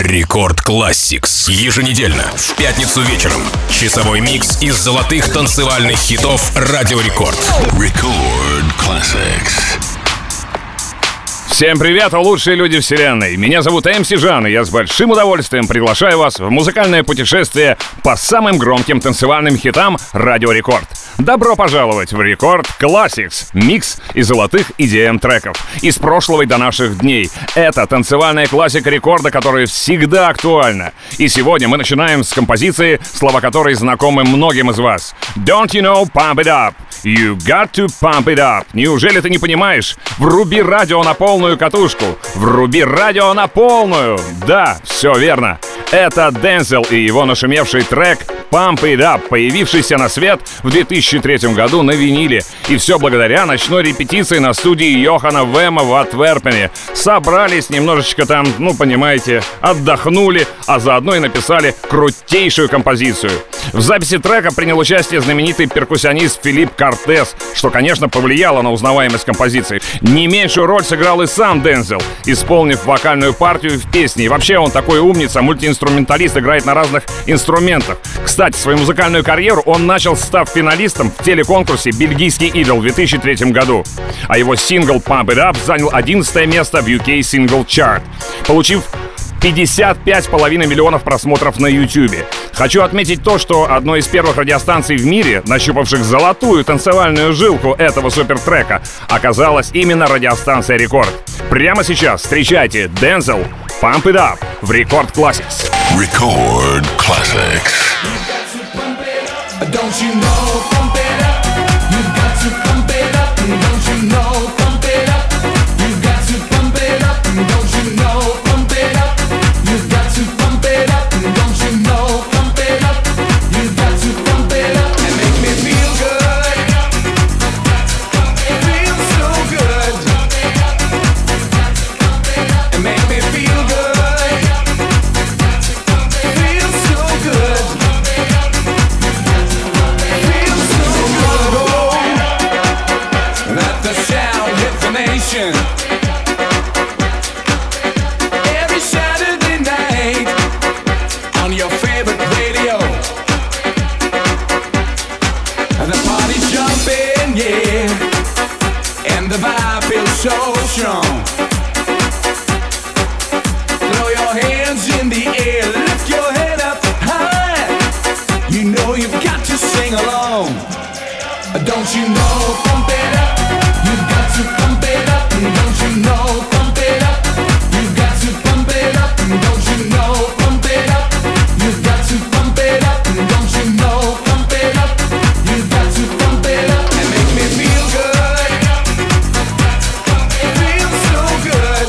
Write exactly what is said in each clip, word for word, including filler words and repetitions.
Рекорд Classics. Еженедельно, в пятницу вечером. Часовой микс из золотых танцевальных хитов Радио Рекорд. Рекорд Classics. Всем привет, лучшие люди вселенной. Меня зовут эм си Жан, и я с большим удовольствием приглашаю вас в музыкальное путешествие по самым громким танцевальным хитам Радио Рекорд. Добро пожаловать в Рекорд Classics, микс из золотых и ди эм-треков из прошлого и до наших дней. Это танцевальная классика рекорда, которая всегда актуальна. И сегодня мы начинаем с композиции, слова которой знакомы многим из вас. Don't you know, pump it up. You got to pump it up. Неужели ты не понимаешь? Вруби радио на полную катушку. Вруби радио на полную. Да, все верно. Это Дензел и его нашумевший трек Pump It Up, появившийся на свет в две тысячи третьем году на виниле. И все благодаря ночной репетиции на студии Йохана Вема в Антверпене. Собрались немножечко там, ну понимаете, отдохнули, а заодно и написали крутейшую композицию. В записи трека принял участие знаменитый перкуссионист Филипп Кортес, что, конечно, повлияло на узнаваемость композиции. Не меньшую роль сыграл и сам Дензел, исполнив вокальную партию в песне. И вообще он такой умница, мультиинструменталист, играет на разных инструментах. Кстати, свою музыкальную карьеру он начал, став финалистом в телеконкурсе «Бельгийский идол» в две тысячи третьем году. А его сингл «Pump It Up» занял одиннадцатое место в ю кей Single Chart, получив пятьдесят пять с половиной миллионов просмотров на Ютубе. Хочу отметить то, что одной из первых радиостанций в мире, нащупавших золотую танцевальную жилку этого супертрека, оказалась именно радиостанция Рекорд. Прямо сейчас встречайте Дензел «Pump It Up» в Рекорд Classics. Рекорд Classics. Don't you know, pump it up. You got to pump it up. Don't you know, pump it up. You got to pump it up. Don't you know, pump it up. You got to pump it up. Don't you know, pump it up. You got to pump it up and make me feel good. Feel so good. And make me feel good. Feel so good. Every Saturday night on your favorite radio, and the party's jumping, yeah, and the vibe feels so strong. Throw your hands in the air, lift your head up high. You know you've got to sing along. Don't you know, pump it up. You've got to pump it up. Don't you know, pump it up. You've got to pump it up. Don't you know, pump it up. You've got to pump it up. Don't you know, pump it up. You've got to pump it up and make me feel good. Feel so good.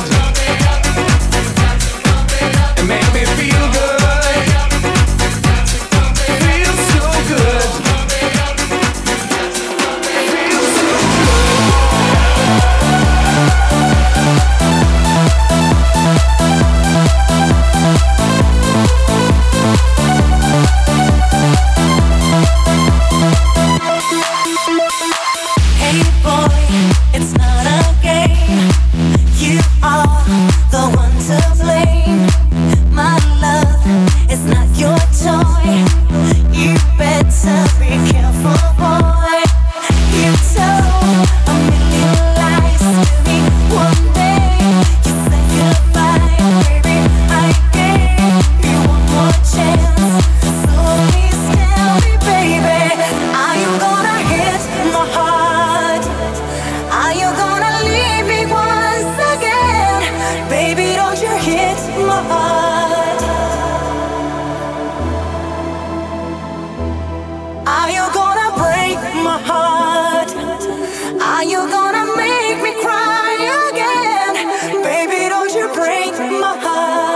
And make me feel good. Feel so good. Feel so Hey boy, it's not a game. You are the one to blame. My love is not your toy. You better be careful, boy. You told a million lies to me one day. You said goodbye, baby. I gave you one more chance. So please tell me, baby, are you gonna hit my heart? Are you gonna leave me once again? Baby, don't you hit my heart? Are you gonna break my heart? Are you gonna make me cry again? Baby, don't you break my heart?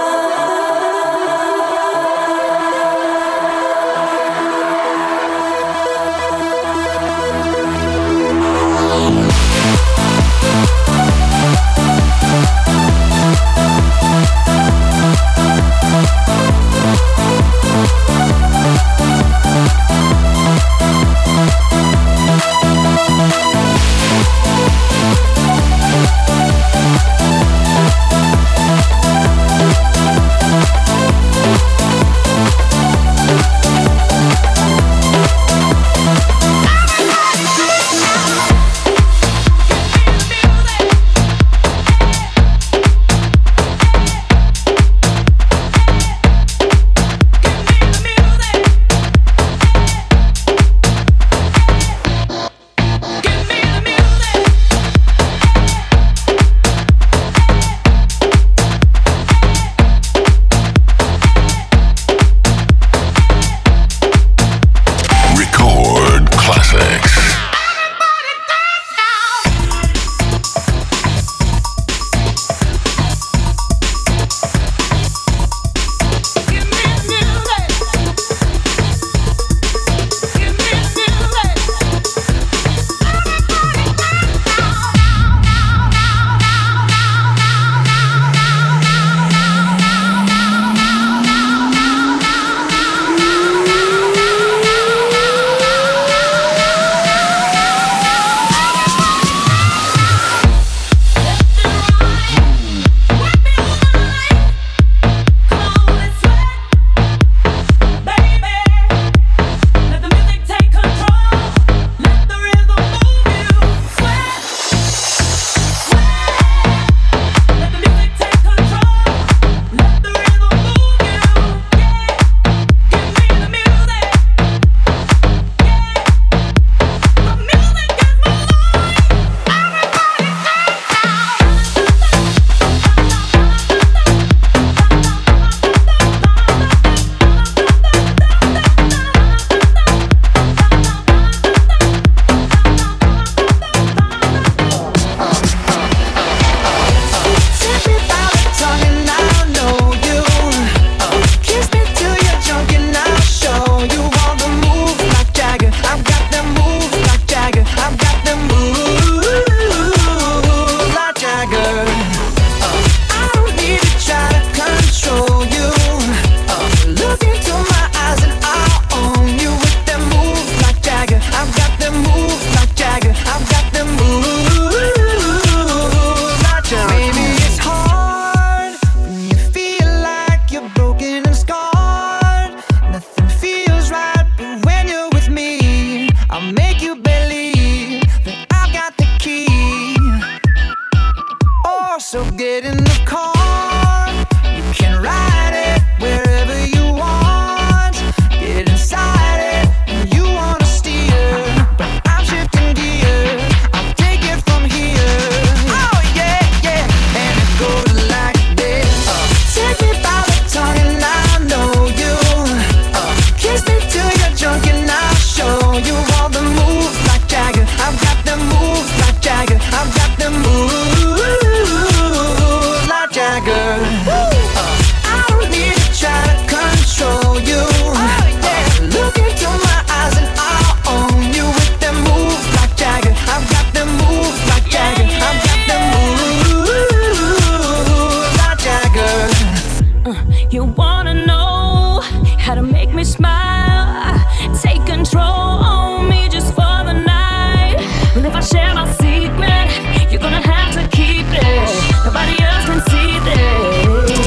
You wanna know how to make me smile, take control on me just for the night. Well, if I share my secret, you're gonna have to keep it. Nobody else can see this.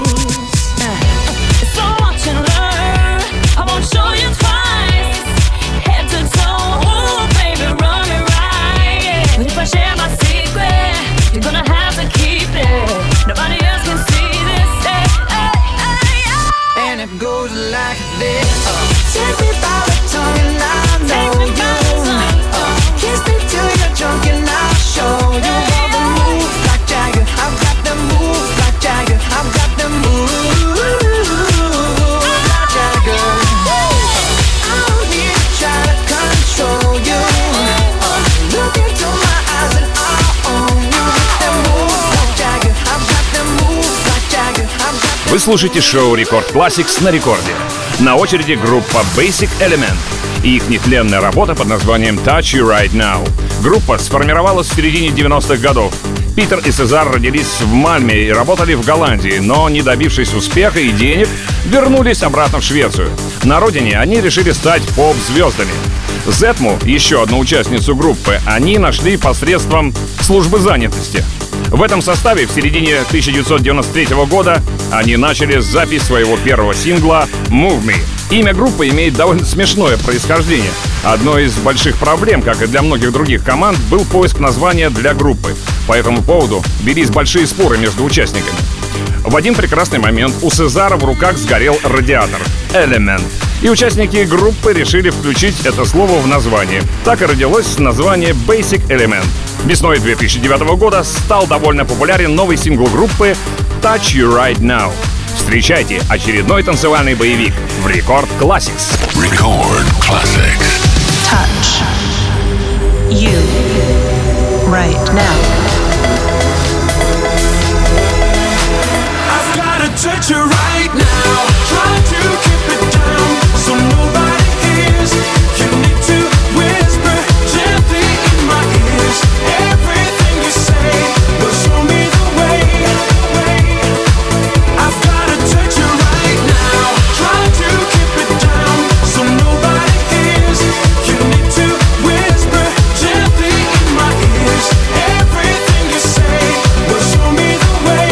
So watch and learn, I won't show you twice. Head to toe, ooh, baby, run it right. But if I share my secret, you're gonna have to keep it. Nobody else can see this. Hey, hey, hey, hey. And it goes like this. uh, Take me by the tongue and I know you. uh, Kiss me till you're drunk and I'll show you all the moves like Jagger. I've got the moves like Jagger. I've got the moves like Jagger. I don't need to try to control you. uh, Look into my eyes and I'll own you. With the moves like Jagger. I've got the moves like Jagger. I've got the. Вы слушаете шоу Record Classics на рекорде. На очереди группа Basic Element и их нетленная работа под названием Touch You Right Now. Группа сформировалась в середине девяностых годов. Питер и Сезар родились в Мальме и работали в Голландии, но, не добившись успеха и денег, вернулись обратно в Швецию. На родине они решили стать поп-звездами. Зетму, еще одну участницу группы, они нашли посредством службы занятости. В этом составе в середине тысяча девятьсот девяносто третьего года они начали запись своего первого сингла «Move Me». Имя группы имеет довольно смешное происхождение. Одной из больших проблем, как и для многих других команд, был поиск названия для группы. По этому поводу велись большие споры между участниками. В один прекрасный момент у Сезара в руках сгорел радиатор «Element», и участники группы решили включить это слово в название. Так и родилось название Basic Element. Весной две тысячи девятого года стал довольно популярен новый сингл группы Touch You Right Now. Встречайте очередной танцевальный боевик в Record Classics. Record Classics. Touch you right now. I've gotta touch you right now. Try to keep it down so nobody hears. You need to whisper gently in my ears. Everything you say will show me the way. I've gotta touch you right now. Try to keep it down so nobody hears. You need to whisper gently in my ears. Everything you say will show me the way.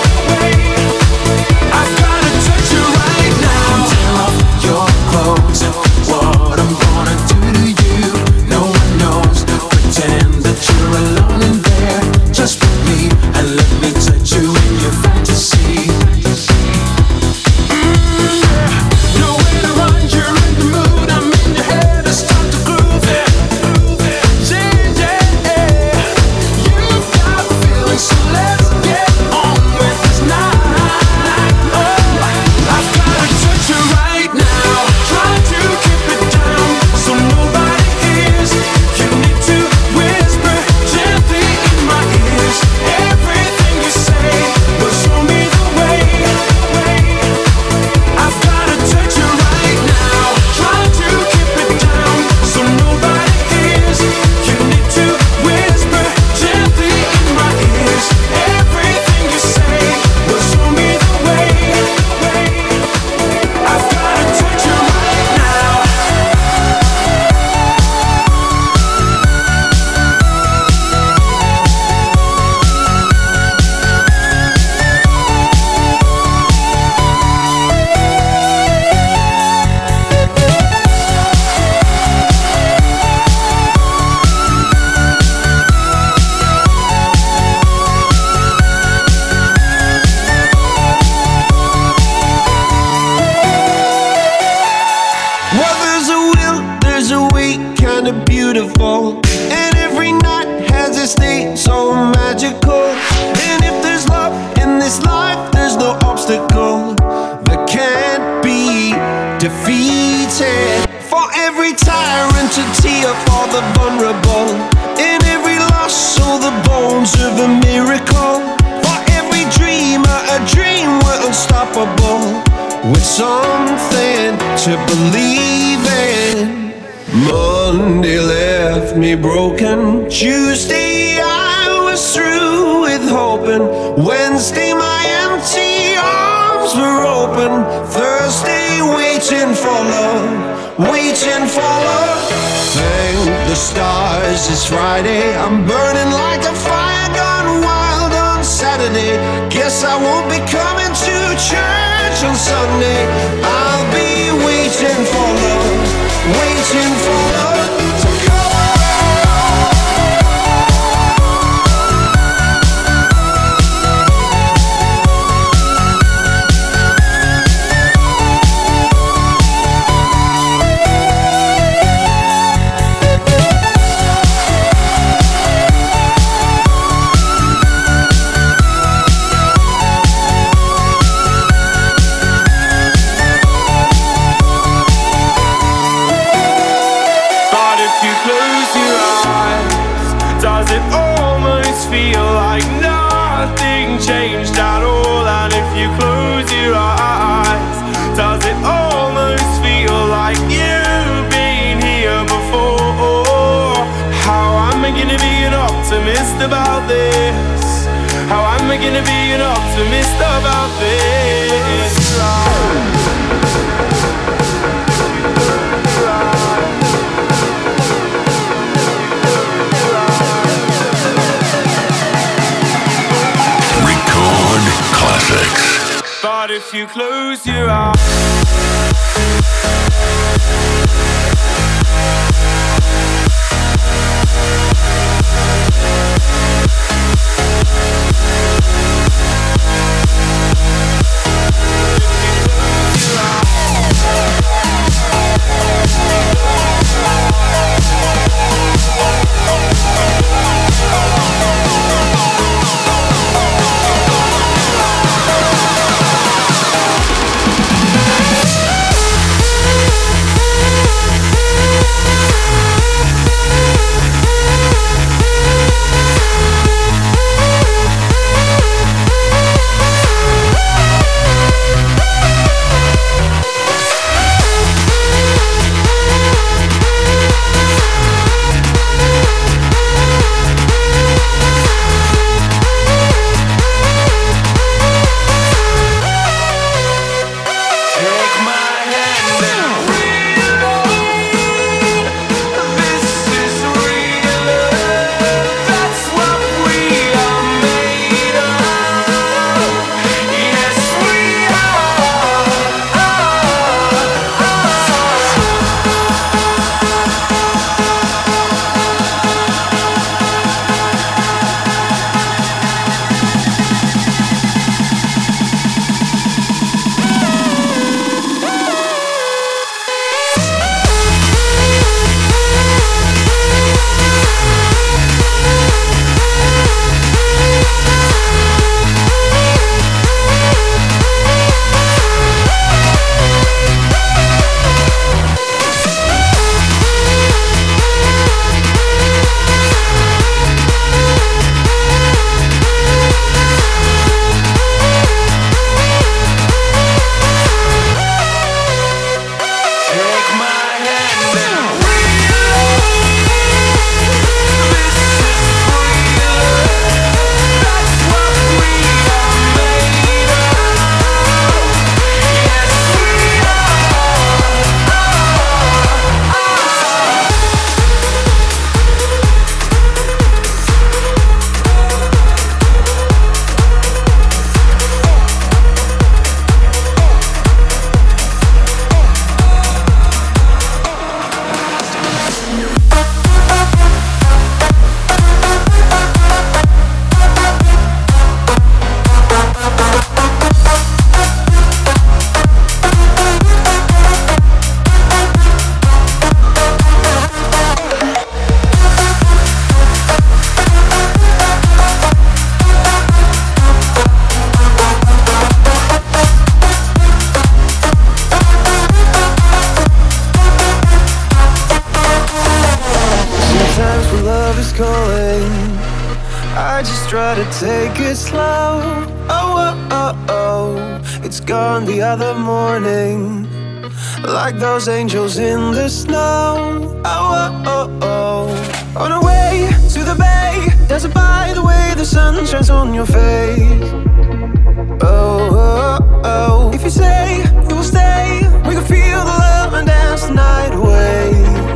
I've gotta touch you right now. Tear off your clothes. What I'm gonna do to you, no one knows. Pretend that you're alone in there, just with me, and let me touch you in your fantasy. Mm, yeah. Nowhere to run, you're in the mood. I'm in your head, let's start to groove it. Yeah, yeah. You've got feelings, so let's get on with this night. Oh, I've gotta touch you right now. Try to keep it down so nobody hears. You need to whisper gently in my ears. Everything you say will show me the way. I've gotta touch you right now. Try to keep it down so nobody hears. You need to whisper gently in my ears. Everything you say will show me the way. I've gotta touch you right now. Well, there's a will, there's a way, kinda beautiful. And every night has a state so magical. And if there's love in this life, there's no obstacle that can't be defeated. For every tyrant to tear for the vulnerable. In every loss, all the bones of a miracle. For every dreamer, a dream we're unstoppable. With something to believe in. Monday left me broken. Tuesday I was through with hoping. Wednesday my empty arms arms were open, thirsty, waiting for love, waiting for love. Thank the stars, it's Friday. I'm burning like a fire gone wild on Saturday. Guess I won't be coming to church on Sunday. I'll be waiting for love, waiting for love to come. Changed at all, and if you close your eyes, does it almost feel like you've been here before? How am I gonna be an optimist about this? How am I gonna be an optimist about this? Classics. But if you close your eyes, try to take it slow. Oh, oh, oh, oh. It's gone the other morning, like those angels in the snow. Oh, oh, oh, oh. On our way to the bay, dancing by the way the sun shines on your face. Oh, oh, oh. you say you will stay, we can feel the love and dance the night away.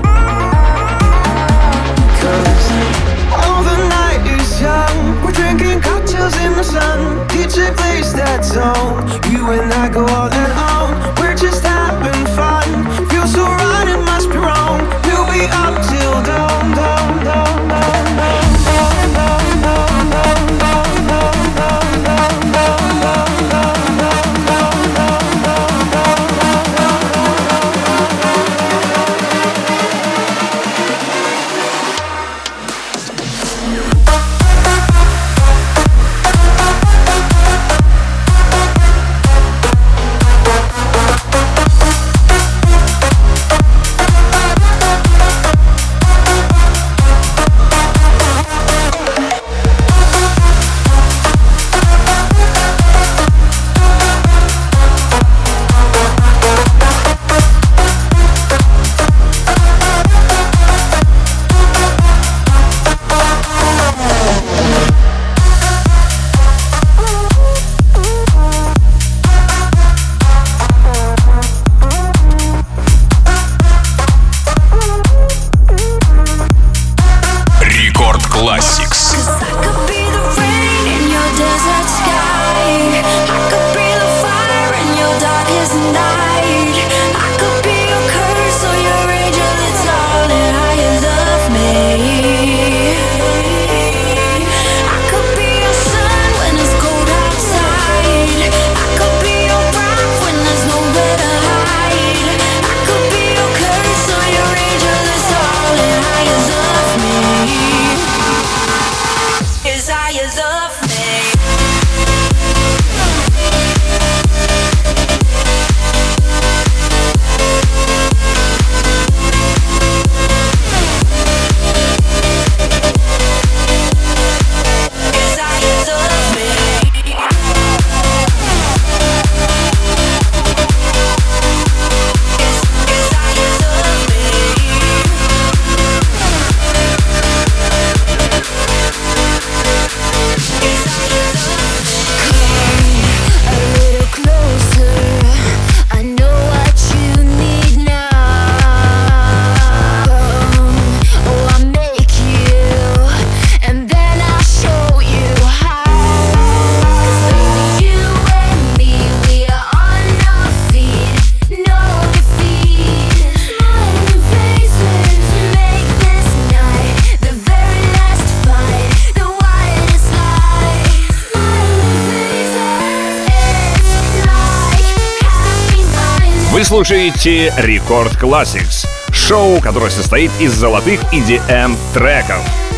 Cause all the night is young, we're drinking cocktails in the sun. D J plays that song, you and I go all and on. We're just having fun, feels so right, it must be wrong. We'll be up till dawn, dawn, dawn, dawn, dawn. Вы слушаете Рекорд Classics, шоу, которое состоит из золотых и ди эм-треков.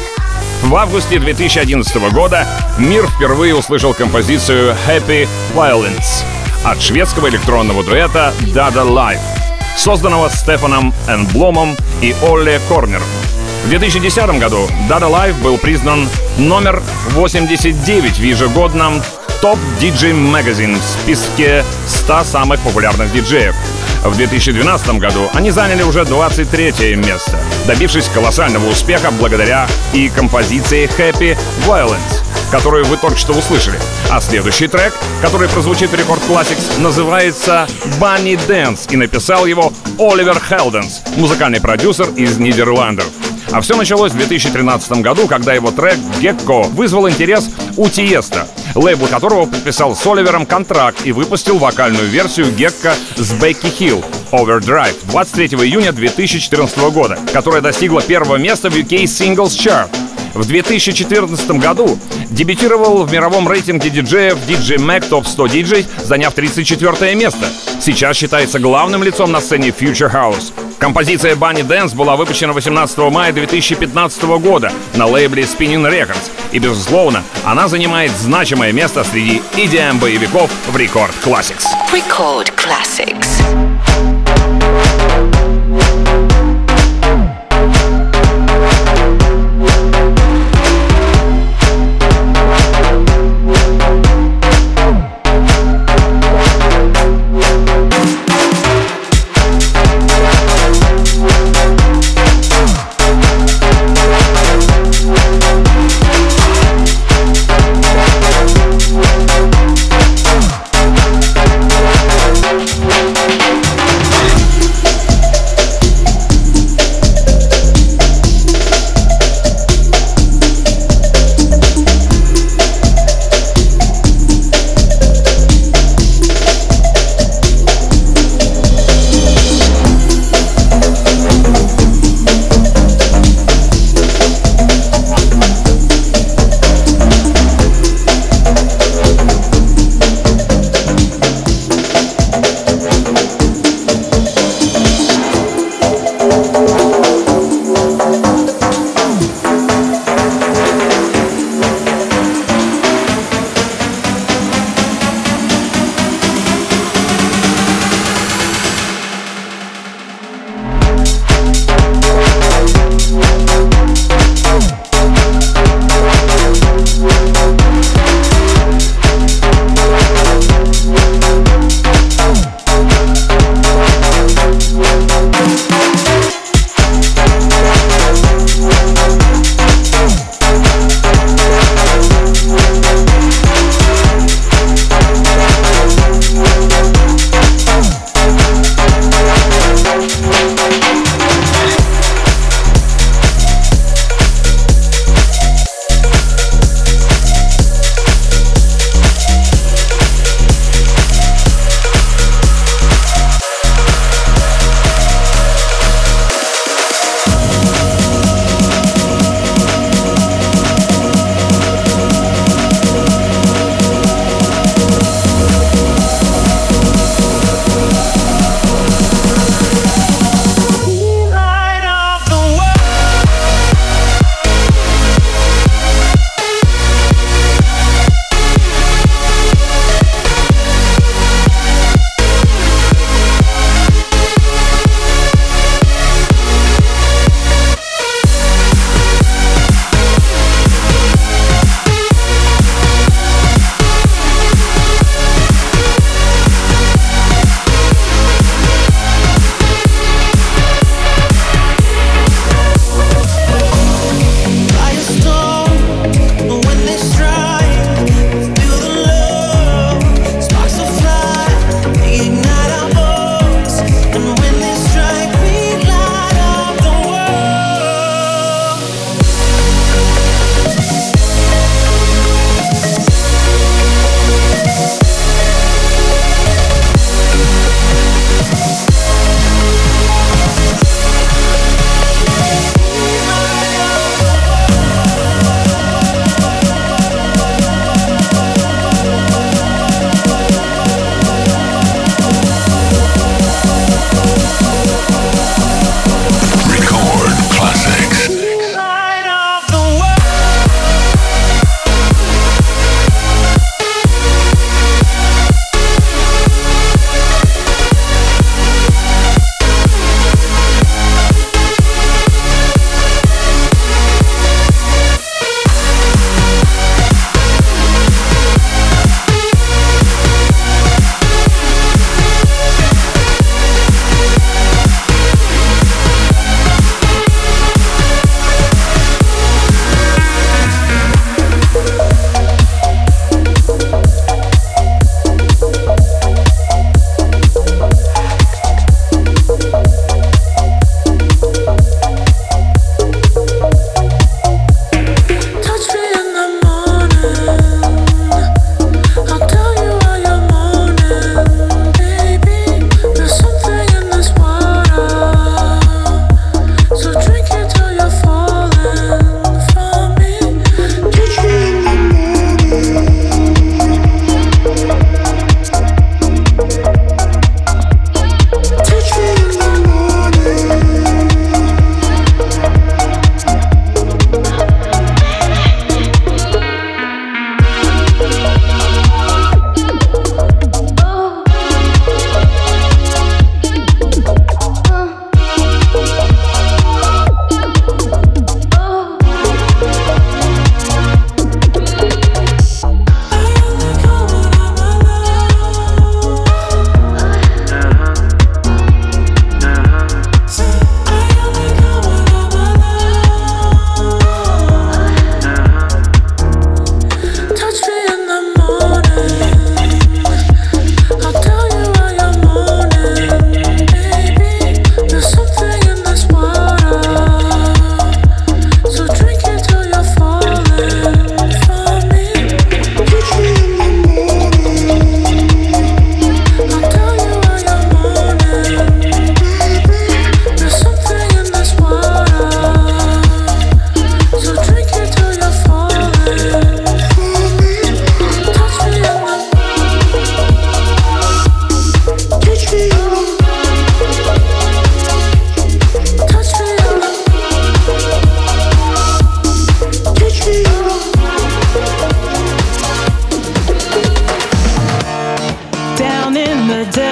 В августе две тысячи одиннадцатого года мир впервые услышал композицию Happy Violence от шведского электронного дуэта Dada Life, созданного Стефаном Энбломом и Олле Корнером. В две тысячи десятом году Dada Life был признан номер восемьдесят девять в ежегодном Top ди джей Magazine в списке ста самых популярных диджеев. В две тысячи двенадцатом году они заняли уже двадцать третье место, добившись колоссального успеха благодаря и композиции Happy Violence, которую вы только что услышали. А следующий трек, который прозвучит в Рекорд Classics, называется Bunny Dance, и написал его Оливер Хелденс, музыкальный продюсер из Нидерландов. А все началось в две тысячи тринадцатом году, когда его трек «Gecko» вызвал интерес у Тиеста, лейбл которого подписал с Оливером контракт и выпустил вокальную версию «Gecko» с Бекки Хилл «Overdrive» двадцать третьего июня две тысячи четырнадцатого года, которая достигла первого места в ю кей Singles Chart. В две тысячи четырнадцатом году дебютировал в мировом рейтинге диджеев ди джей Mag Top сто диджей, заняв тридцать четвёртое место. Сейчас считается главным лицом на сцене Future House. Композиция Bunny Dance была выпущена восемнадцатого мая две тысячи пятнадцатого года на лейбле Spinning Records. И, безусловно, она занимает значимое место среди и ди эм-боевиков в Record Classics. Record Classics.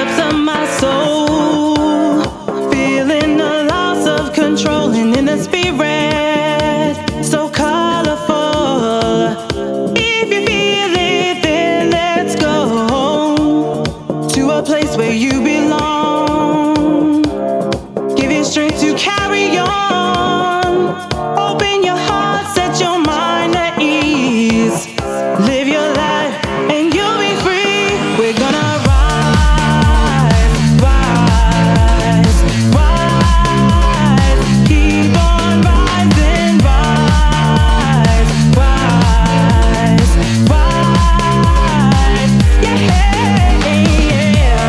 depths of my soul, feeling the loss of control, and in the spirit so colorful. If you feel it, then let's go to a place where you belong. Give you strength to carry on. Open your heart, set your mind at ease. Live your life and you'll be free. We're gonna rise, rise, rise. Keep on rising, rise, rise, rise. Yeah, yeah.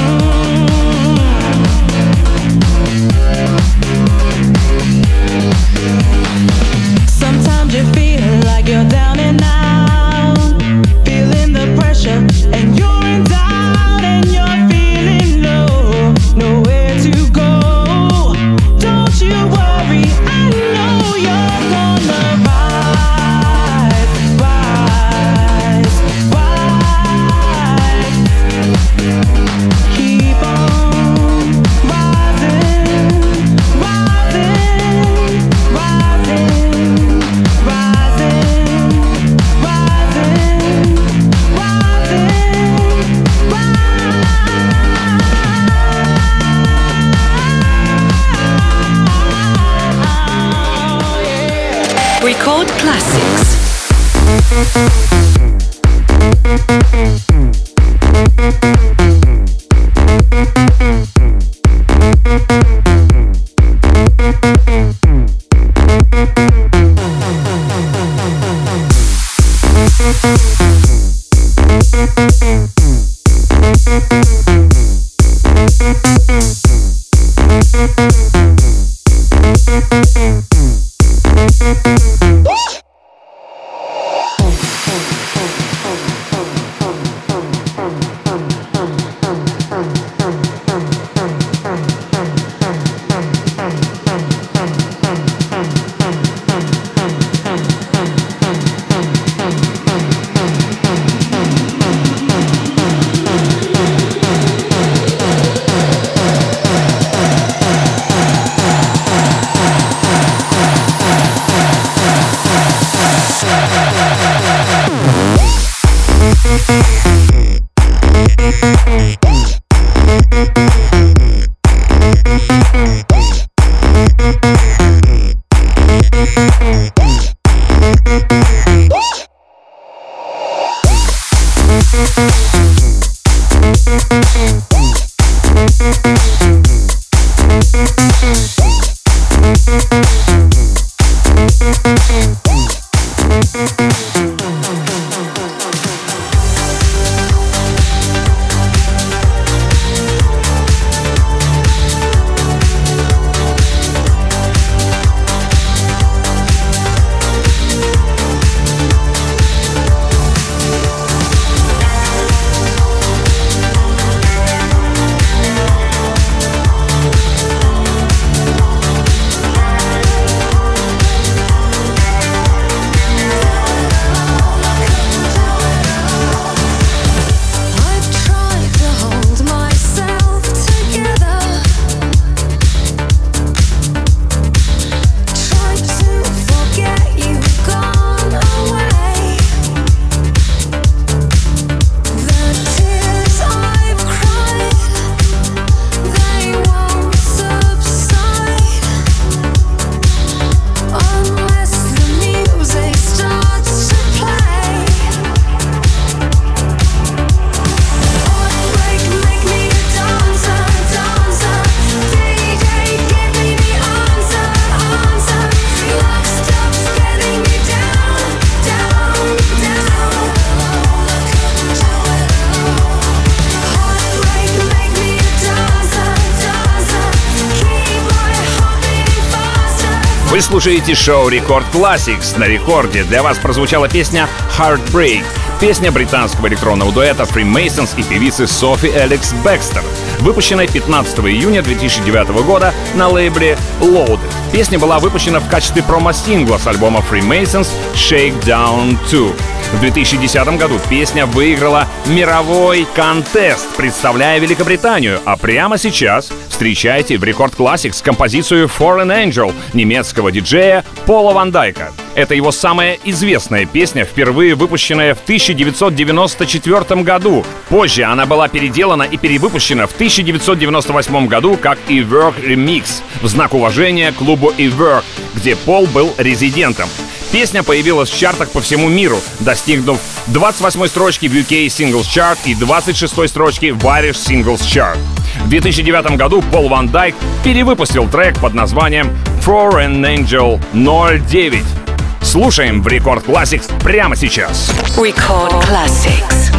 Mm. Sometimes you feel like you're down and out, feeling the pressure, and you're in doubt, and you're feeling low, nowhere to go. Don't you worry, I know you're gonna rise, rise, rise. Keep on rising, rising, rising, rising, rising, rising, rise. Record classics. Вы слушаете шоу Record Classics на рекорде. Для вас прозвучала песня Heartbreak, песня британского электронного дуэта Freemasons и певицы Софи Алекс Бекстер, выпущенная пятнадцатого июня две тысячи девятого года на лейбле Loaded. Песня была выпущена в качестве промо-сингла с альбома Freemasons Shakedown два. В две тысячи десятом году песня выиграла мировой контест, представляя Великобританию, а прямо сейчас встречайте в Рекорд Classics композицию Foreign Angel немецкого диджея Пола Ван Дайка. Это его самая известная песня, впервые выпущенная в тысяча девятьсот девяносто четвёртом году. Позже она была переделана и перевыпущена в тысяча девятьсот девяносто восьмом году как E-Work Remix в знак уважения клубу E-Work, где Пол был резидентом. Песня появилась в чартах по всему миру, достигнув двадцать восьмой строчки в ю кей Singles Chart и двадцать шестой строчки в Irish Singles Chart. В две тысячи девятом году Пол Ван Дайк перевыпустил трек под названием Foreign Angel ноль девять. Слушаем в Рекорд Classics прямо сейчас. Record Classics.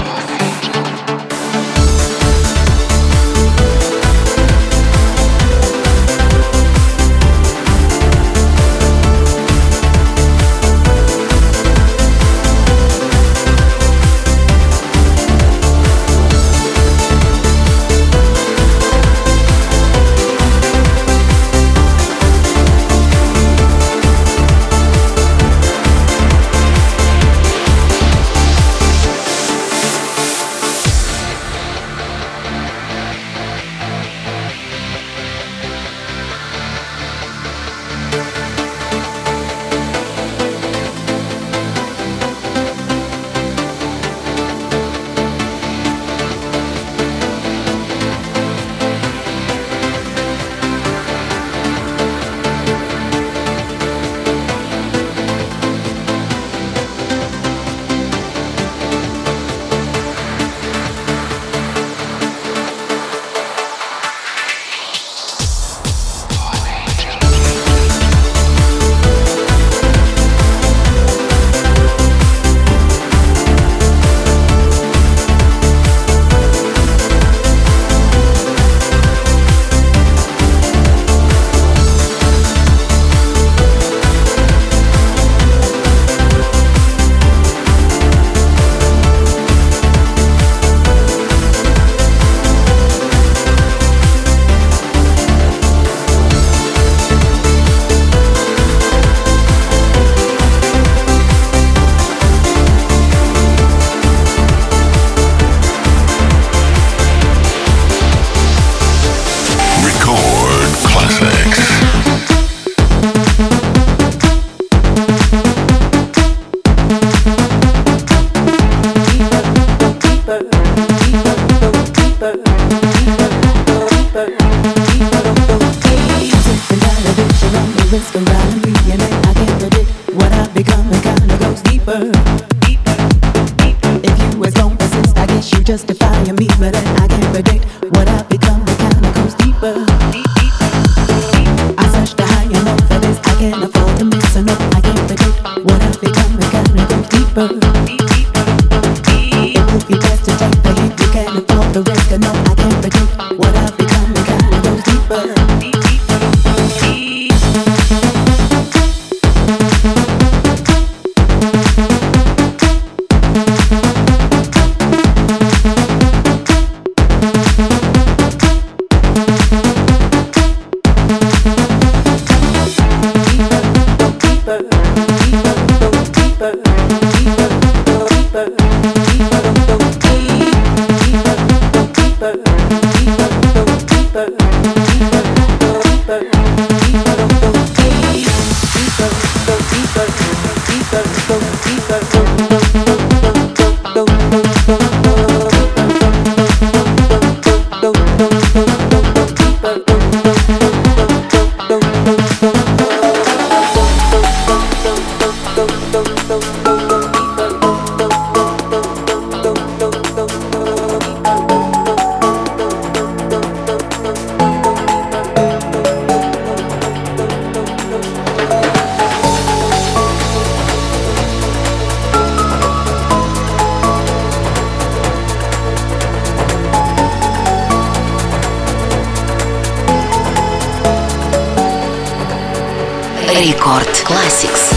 Рекорд Classics.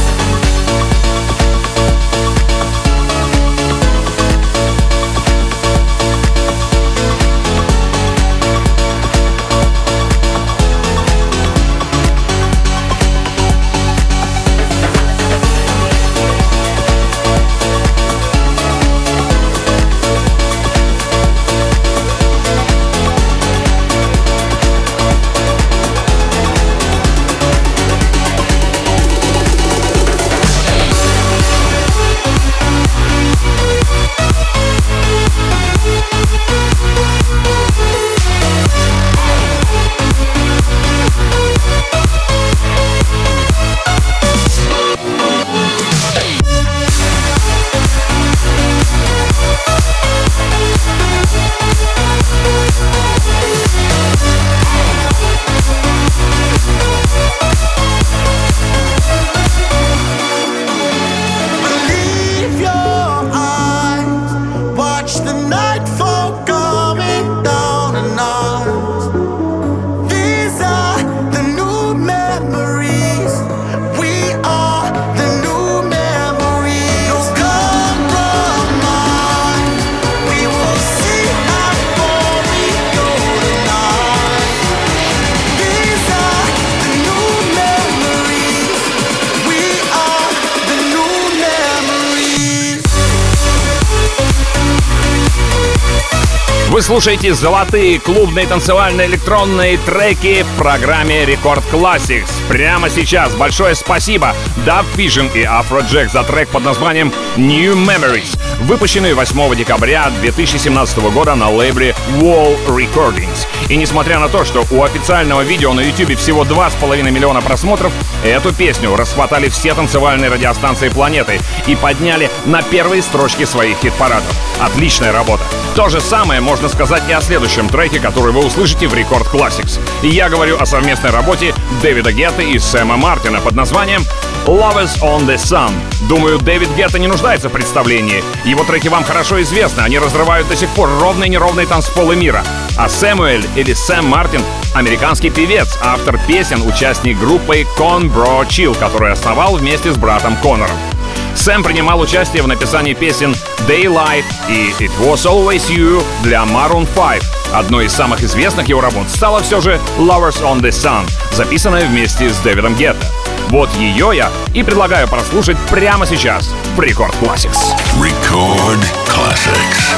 Вы слушаете золотые клубные танцевальные электронные треки в программе Рекорд Classics. Прямо сейчас большое спасибо Dub Vision и Afrojack за трек под названием New Memories, выпущенный восьмого декабря две тысячи семнадцатого года на лейбле Wall Recordings. И несмотря на то, что у официального видео на YouTube всего два с половиной миллиона просмотров, эту песню расхватали все танцевальные радиостанции планеты и подняли на первые строчки своих хит-парадов. Отличная работа. То же самое можно сказать и о следующем треке, который вы услышите в Рекорд Classics. И я говорю о совместной работе Дэвида Гетты и Сэма Мартина под названием Lovers on the Sun. Думаю, Дэвид Гетта не нуждается в представлении. Его треки вам хорошо известны, они разрывают до сих пор ровные и неровные танцполы мира. А Сэмюэль или Сэм Мартин — американский певец, автор песен, участник группы Con Bro Chill, которую основал вместе с братом Конором. Сэм принимал участие в написании песен Daylight и It Was Always You для Maroon пять. Одной из самых известных его работ стала все же Lovers on the Sun, записанная вместе с Дэвидом Гетто. Вот ее я и предлагаю прослушать прямо сейчас в Рекорд Classics. Record Classics.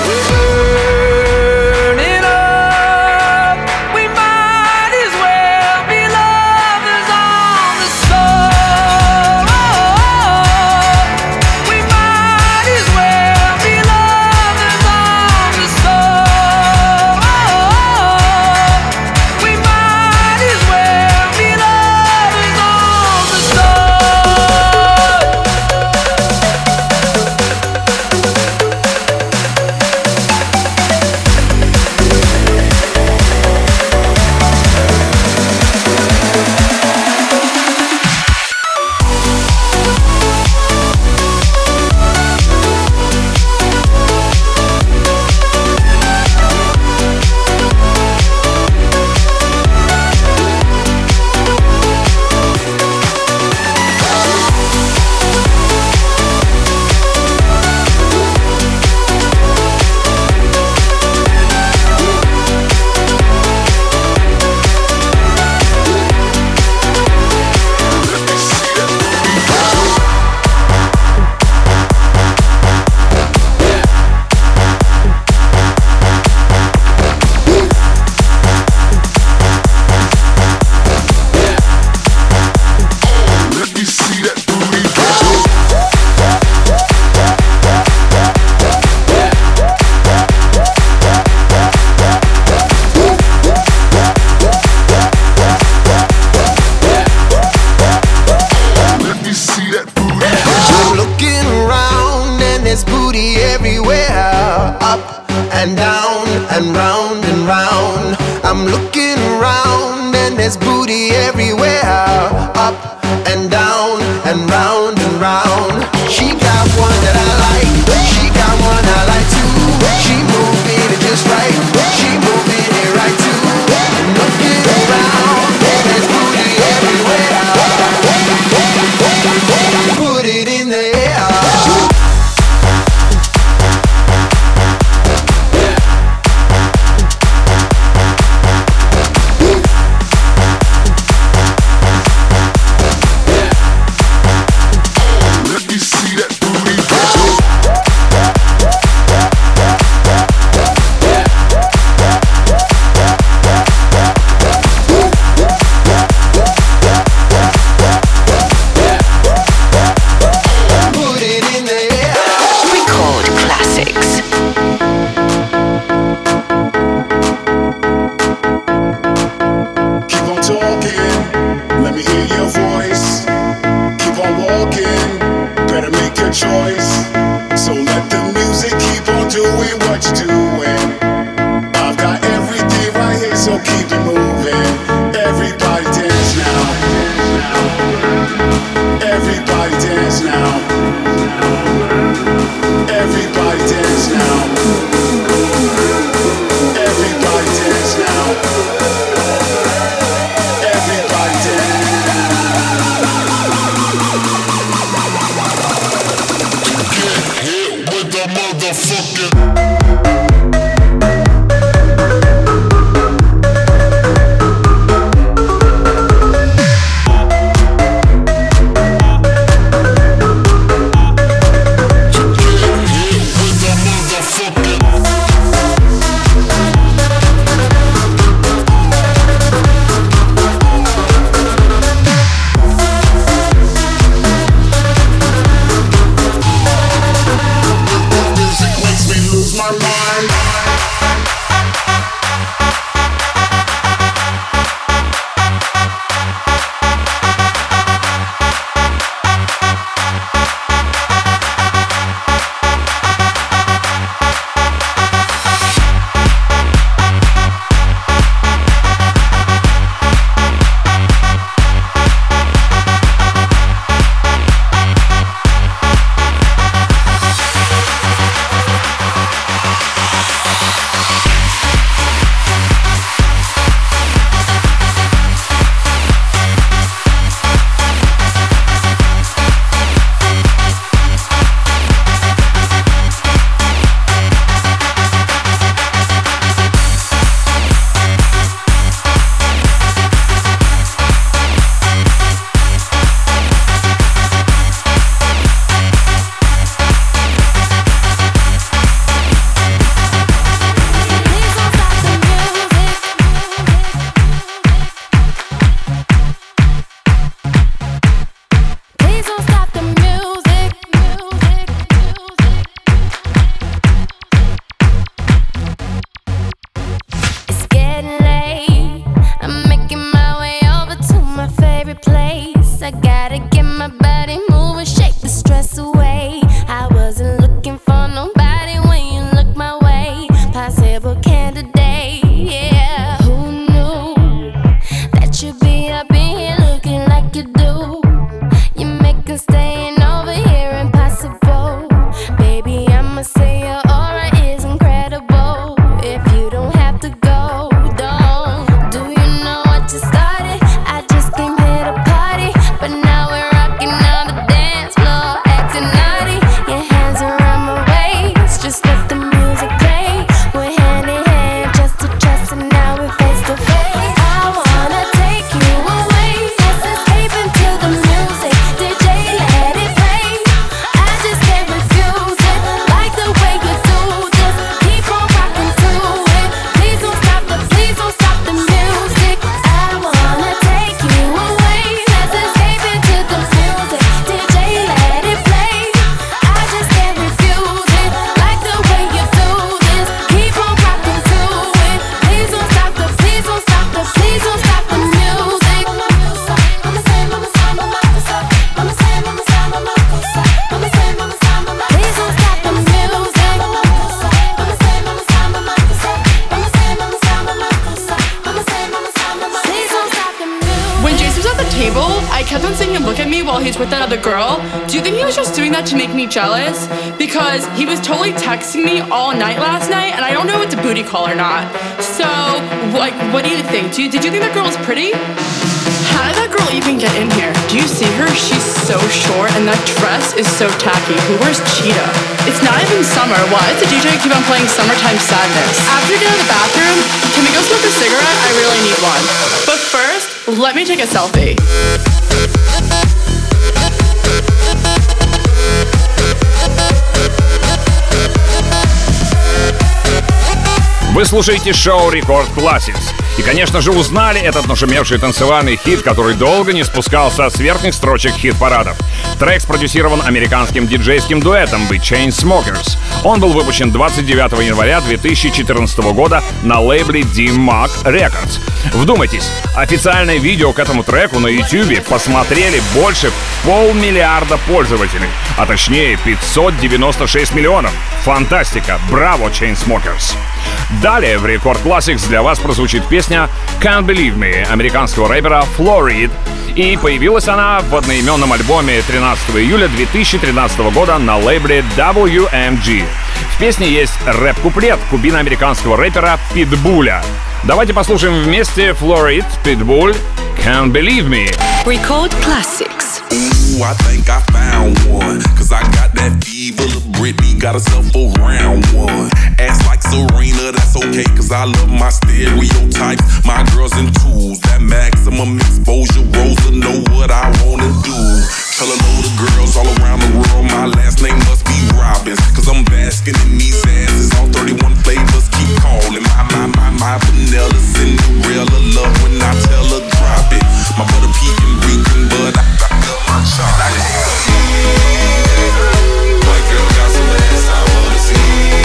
table, I kept on seeing him look at me while he's with that other girl. Do you think he was just doing that to make me jealous? Because he was totally texting me all night last night, and I don't know if it's a booty call or not. So, like, what do you think? Do you, did you think that girl was pretty? How did that girl even get in here? Do you see her? She's so short, and that dress is so tacky. Who wears cheetah? It's not even summer. Why does the D J keep on playing Summertime Sadness? After we get out of the bathroom, can we go smoke a cigarette? I really need one. But first, let me take a selfie. Вы слушаете шоу Рекорд Classics. И, конечно же, узнали этот нашумевший танцевальный хит, который долго не спускался с верхних строчек хит-парадов. Трек спродюсирован американским диджейским дуэтом The Chainsmokers. Он был выпущен двадцать девятого января две тысячи четырнадцатого года на лейбле D-Mark Records. Вдумайтесь, официальное видео к этому треку на YouTube посмотрели больше полмиллиарда пользователей, а точнее пятьсот девяносто шесть миллионов. Фантастика! Браво, Chainsmokers! Далее в Рекорд Classics для вас прозвучит песня Can't Believe Me американского рэпера Florid. И появилась она в одноименном альбоме тринадцатого июля две тысячи тринадцатого года на лейбле дабл ю эм джи. В песне есть рэп-куплет кубино-американского рэпера Питбуля. Давайте послушаем вместе Florid, Pitbull, Can't Believe Me. Record Classics. Ooh, I think I found one. Cause I got that fever of Britney, got herself a round one. Ass like Serena, that's okay, cause I love my stereotypes. My girls and tools, that maximum exposure. Rosa know what I wanna do. Tell a load of girls all around the world, my last name must be Robbins. Cause I'm basking in these asses, all thirty-one flavors keep calling. My, my, my, my vanilla Cinderella love when I tell her drop it. My butter pecan reeking, but I, I love my chocolate. My girl got some ass I wanna see.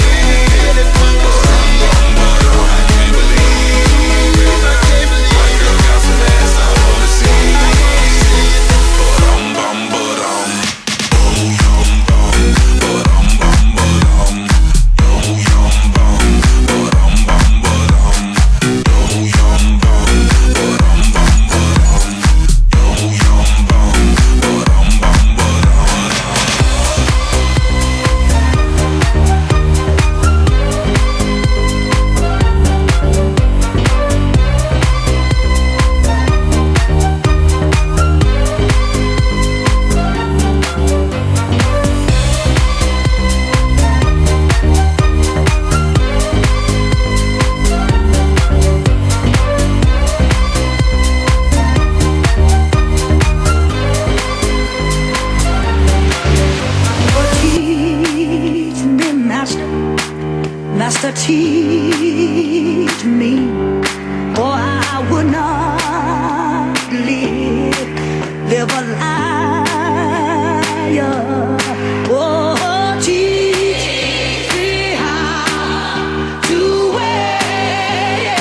Teach me, or I would not live, live a liar. Oh, teach me how to wait.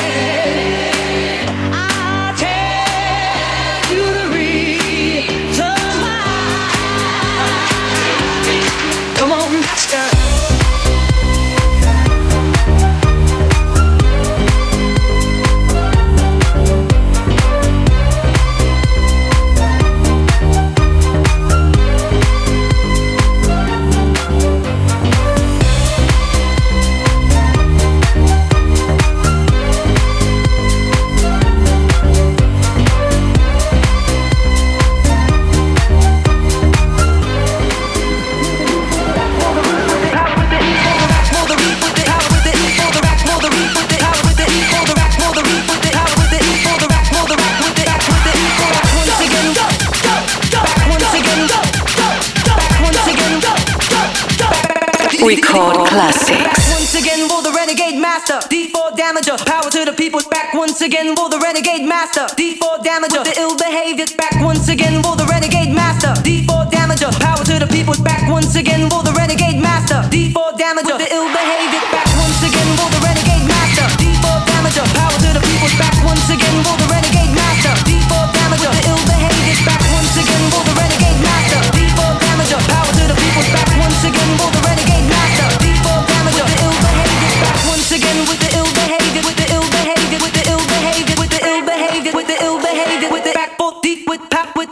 I'll tell you the reason why. Come on, master. Record Classics. Once again, will the renegade master, D four damager, power to the people. Back once again, will the renegade master, D four damager, with the ill behavior. Back once again, will the renegade master, D four damager, power to the people. Back once again, will the renegade master, D four damager, with the ill behavior. Back once again, will the renegade master, D four damager, power to the people. Back once again, will the renegade master, D four damager, with the ill behavior. Back once again, will the renegade master, D four damager, power to the people. Back once again, will the renegade master, D four damager, with the ill behavior. Back once again with the ill behavior, with the ill behavior, with the ill behavior, with the ill behavior, with the ill behavior, with the back foot deep with pop with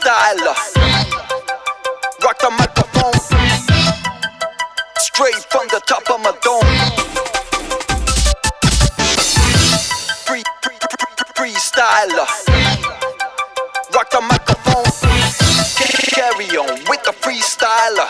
freestyler. Rock the microphone straight from the top of my dome. Free, free, free, freestyler. Rock the microphone. Carry on with the freestyler.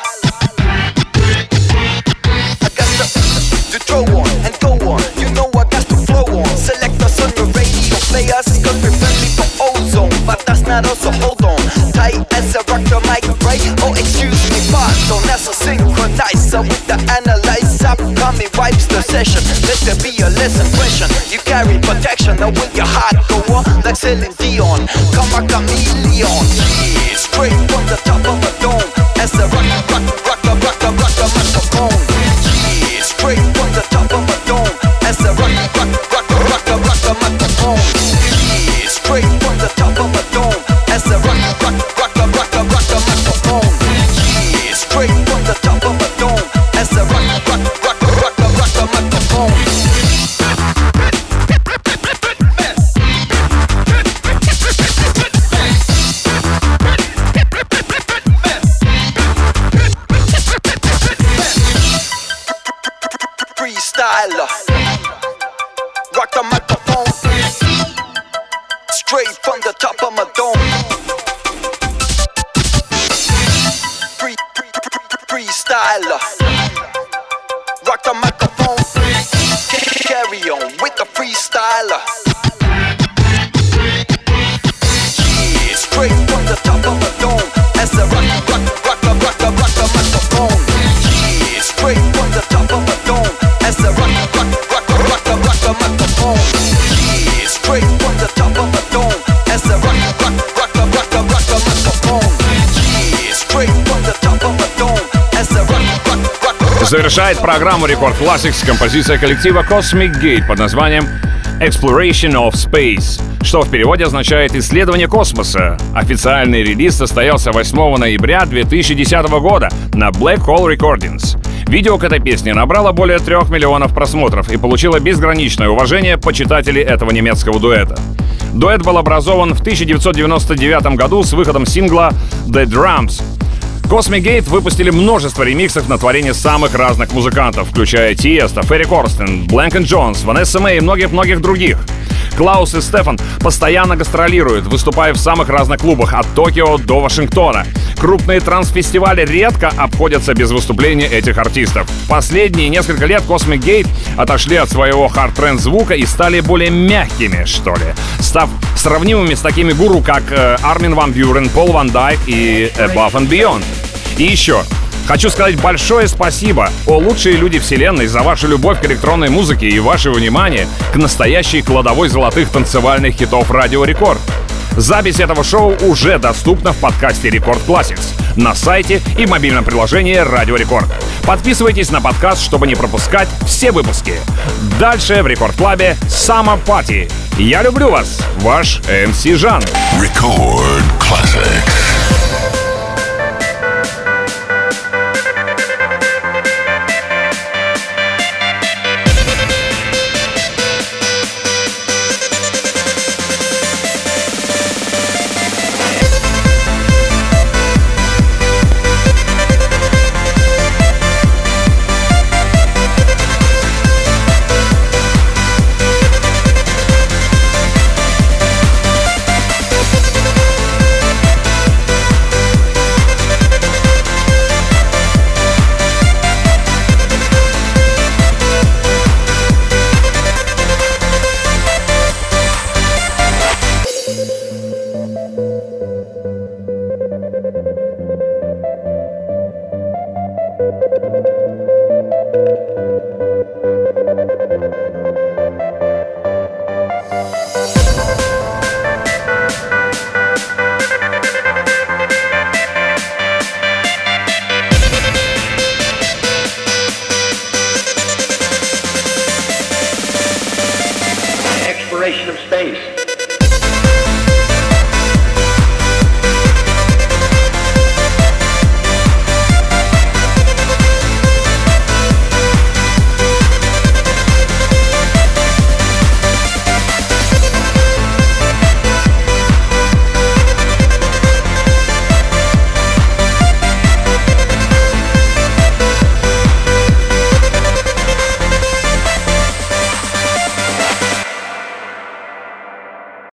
I got to, to throw on and go on. You know I got to flow on. Select us on your radio players, cause we're friendly for ozone. But that's not us, so hold on. Tight as a rock the mic, right? Oh, excuse me, pardon. That's a synchronizer with the analyzer. Coming wipes the session. Let there be a lesson question. You carry protection, now will your heart go on? Like Celine Dion, come a chameleon. Yeah, straight from the top of a dome. As a rock, rock, rock, rock, rock, rock, rock the microphone. Yeah, straight from the top of a dome. As a rock, rock, rock, rock, rock, rock the microphone. Yeah, straight from the top of a dome. As a rock, rock, rock, rock, rock, rock the microphone. Yeah, straight from the top of a dome. As a rock, rock, rock, rock, rock the microphone. Freestyler. Rock the microphone straight from the top of my dome. Free, free, free, freestyler. Rock the microphone. Carry on with the freestyler. Yeah, straight from the top of a dome. As a rock, rock, rock, rock, rock, rock the microphone. Yeah, straight from the top of a dome. As a rock, rock, rock, rock, rock, rock the microphone. Yeah, straight from the top of a dome. As a rock, rock, rock, rock, rock, rock the microphone. Yeah, straight from the top of a dome. As a rock, rock, rock, rock. Завершает программу Record Classics композиция коллектива Cosmic Gate под названием Exploration of Space, что в переводе означает «исследование космоса». Официальный релиз состоялся восьмого ноября две тысячи десятого года на Black Hole Recordings. Видео к этой песне набрало более трех миллионов просмотров и получило безграничное уважение почитателей этого немецкого дуэта. Дуэт был образован в тысяча девятьсот девяносто девятом году с выходом сингла «The Drums». Cosmic Gate выпустили множество ремиксов на творения самых разных музыкантов, включая Тиеста, Ферри Корстен, Блэнк энд Джонс, Ванесса Мэй и многих-многих других. Клаус и Стефан постоянно гастролируют, выступая в самых разных клубах от Токио до Вашингтона. Крупные транс-фестивали редко обходятся без выступления этих артистов. Последние несколько лет Cosmic Gate отошли от своего хард-тренд звука и стали более мягкими, что ли, став сравнимыми с такими гуру, как э, Армин ван Бюрен, Пол Ван Дайк и Above and Beyond. И еще, хочу сказать большое спасибо, о лучшие люди вселенной, за вашу любовь к электронной музыке и ваше внимание к настоящей кладовой золотых танцевальных хитов Радио Рекорд. Запись этого шоу уже доступна в подкасте Record Classics на сайте и в мобильном приложении Радио Рекорд. Подписывайтесь на подкаст, чтобы не пропускать все выпуски. Дальше в Рекорд Клабе Summer Party. Я люблю вас, ваш эм си Жан. Record Classics. Exploration of space.